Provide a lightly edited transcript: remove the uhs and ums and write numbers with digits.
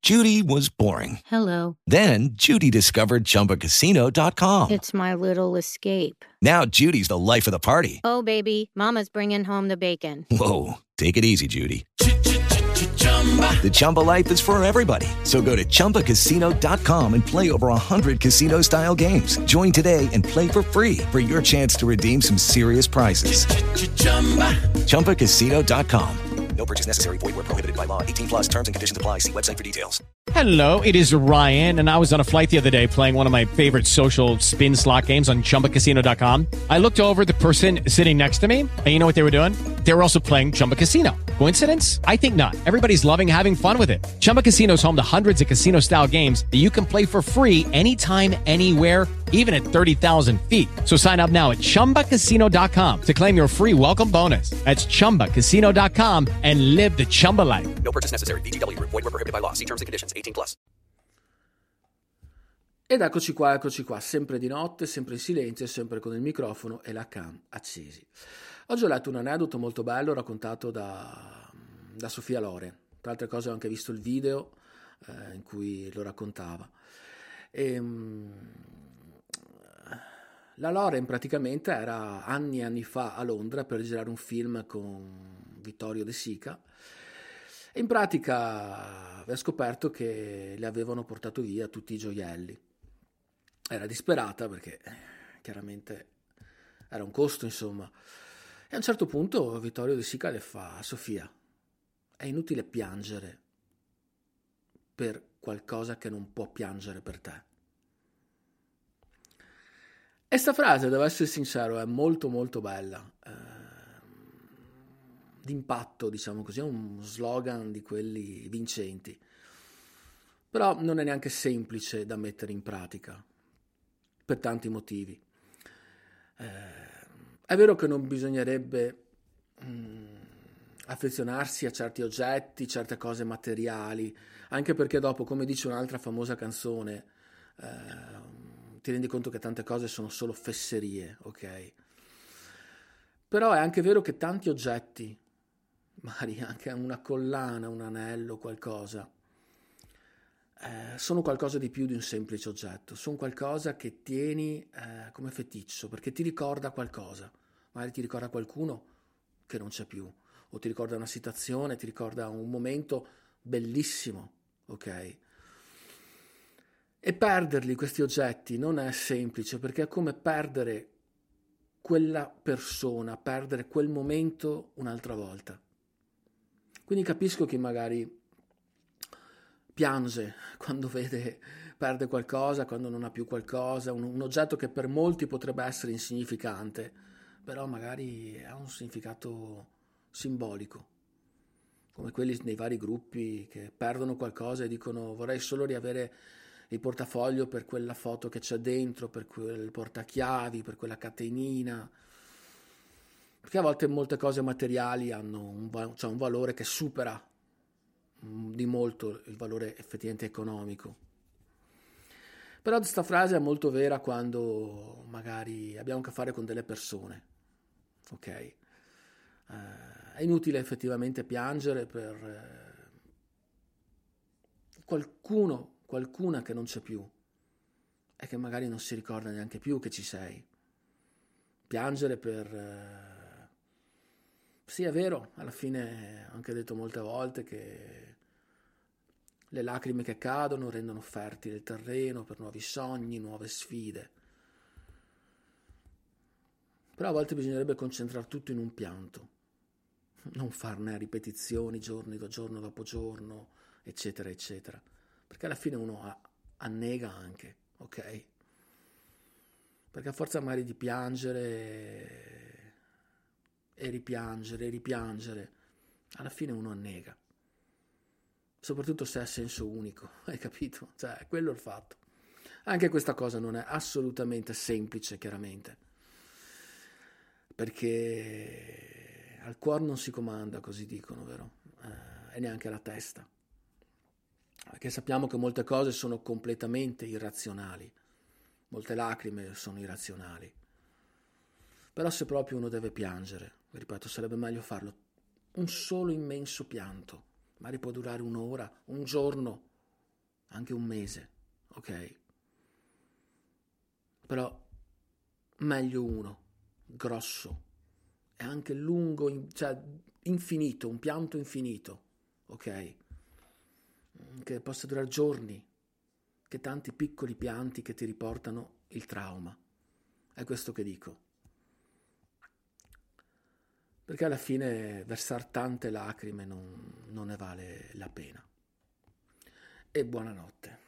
Judy was boring. Hello. Then Judy discovered ChumbaCasino.com. It's my little escape. Now Judy's the life of the party. Oh, baby, mama's bringing home the bacon. Whoa, take it easy, Judy. The Chumba life is for everybody. So go to ChumbaCasino.com and play over 100 casino-style games. Join today and play for free for your chance to redeem some serious prizes. ChumbaCasino.com. No purchase necessary. Void where prohibited by law. 18 plus terms and conditions apply. See website for details. Hello, it is Ryan, and I was on a flight the other day playing one of my favorite social spin slot games on ChumbaCasino.com. I looked over at the person sitting next to me, and you know what they were doing? They were also playing Chumba Casino. Coincidence? I think not. Everybody's loving having fun with it. Chumba Casino is home to hundreds of casino-style games that you can play for free anytime, anywhere, even at 30,000 feet. So sign up now at ChumbaCasino.com to claim your free welcome bonus. That's ChumbaCasino.com and live the Chumba life. No purchase necessary. VGW. Void where prohibited by law. See terms and conditions. 18 plus. Ed eccoci qua, sempre di notte, sempre in silenzio, sempre con il microfono e la cam accesi. Oggi ho letto un aneddoto molto bello raccontato da Sofia Loren. Tra altre cose ho anche visto il video in cui lo raccontava. La Loren praticamente era anni e anni fa a Londra per girare un film con Vittorio De Sica. E in pratica aveva scoperto che le avevano portato via tutti i gioielli. Era disperata perché chiaramente era un costo, insomma. E a un certo punto Vittorio De Sica le fa: Sofia, è inutile piangere per qualcosa che non può piangere per te. E sta frase, devo essere sincero, è molto molto bella, d'impatto, diciamo così, è un slogan di quelli vincenti, però non è neanche semplice da mettere in pratica per tanti motivi. È vero che non bisognerebbe affezionarsi a certi oggetti, certe cose materiali, anche perché dopo, come dice un'altra famosa canzone, ti rendi conto che tante cose sono solo fesserie, ok? Però è anche vero che tanti oggetti, magari anche una collana, un anello, qualcosa, sono qualcosa di più di un semplice oggetto, sono qualcosa che tieni come feticcio, perché ti ricorda qualcosa, magari ti ricorda qualcuno che non c'è più, o ti ricorda una situazione, ti ricorda un momento bellissimo, ok? E perderli, questi oggetti, non è semplice, perché è come perdere quella persona, perdere quel momento un'altra volta. Quindi capisco che magari piange quando perde qualcosa, quando non ha più qualcosa, un oggetto che per molti potrebbe essere insignificante, però magari ha un significato simbolico, come quelli nei vari gruppi che perdono qualcosa e dicono: vorrei solo riavere il portafoglio per quella foto che c'è dentro, per quel portachiavi, per quella catenina, perché a volte molte cose materiali hanno un valore che supera di molto il valore effettivamente economico. Però questa frase è molto vera quando magari abbiamo a che fare con delle persone, ok? È inutile effettivamente piangere per qualcuna che non c'è più e che magari non si ricorda neanche più che ci sei. Piangere per... Sì, è vero, alla fine ho anche detto molte volte che le lacrime che cadono rendono fertile il terreno per nuovi sogni, nuove sfide. Però a volte bisognerebbe concentrare tutto in un pianto, non farne ripetizioni giorno dopo giorno, eccetera, eccetera. Perché alla fine uno annega anche, ok? Perché a forza magari di piangere e ripiangere, alla fine uno annega. Soprattutto se ha senso unico, hai capito? Cioè, è quello il fatto. Anche questa cosa non è assolutamente semplice, chiaramente, perché al cuore non si comanda, così dicono, vero? E neanche alla testa. Perché sappiamo che molte cose sono completamente irrazionali, molte lacrime sono irrazionali. Però se proprio uno deve piangere, ripeto, sarebbe meglio farlo un solo immenso pianto, magari può durare un'ora, un giorno, anche un mese, ok? Però meglio uno, grosso, e anche lungo, cioè infinito, un pianto infinito, ok? Che possa durare giorni, che tanti piccoli pianti che ti riportano il trauma. È questo che dico. Perché alla fine versare tante lacrime non ne vale la pena. E buonanotte.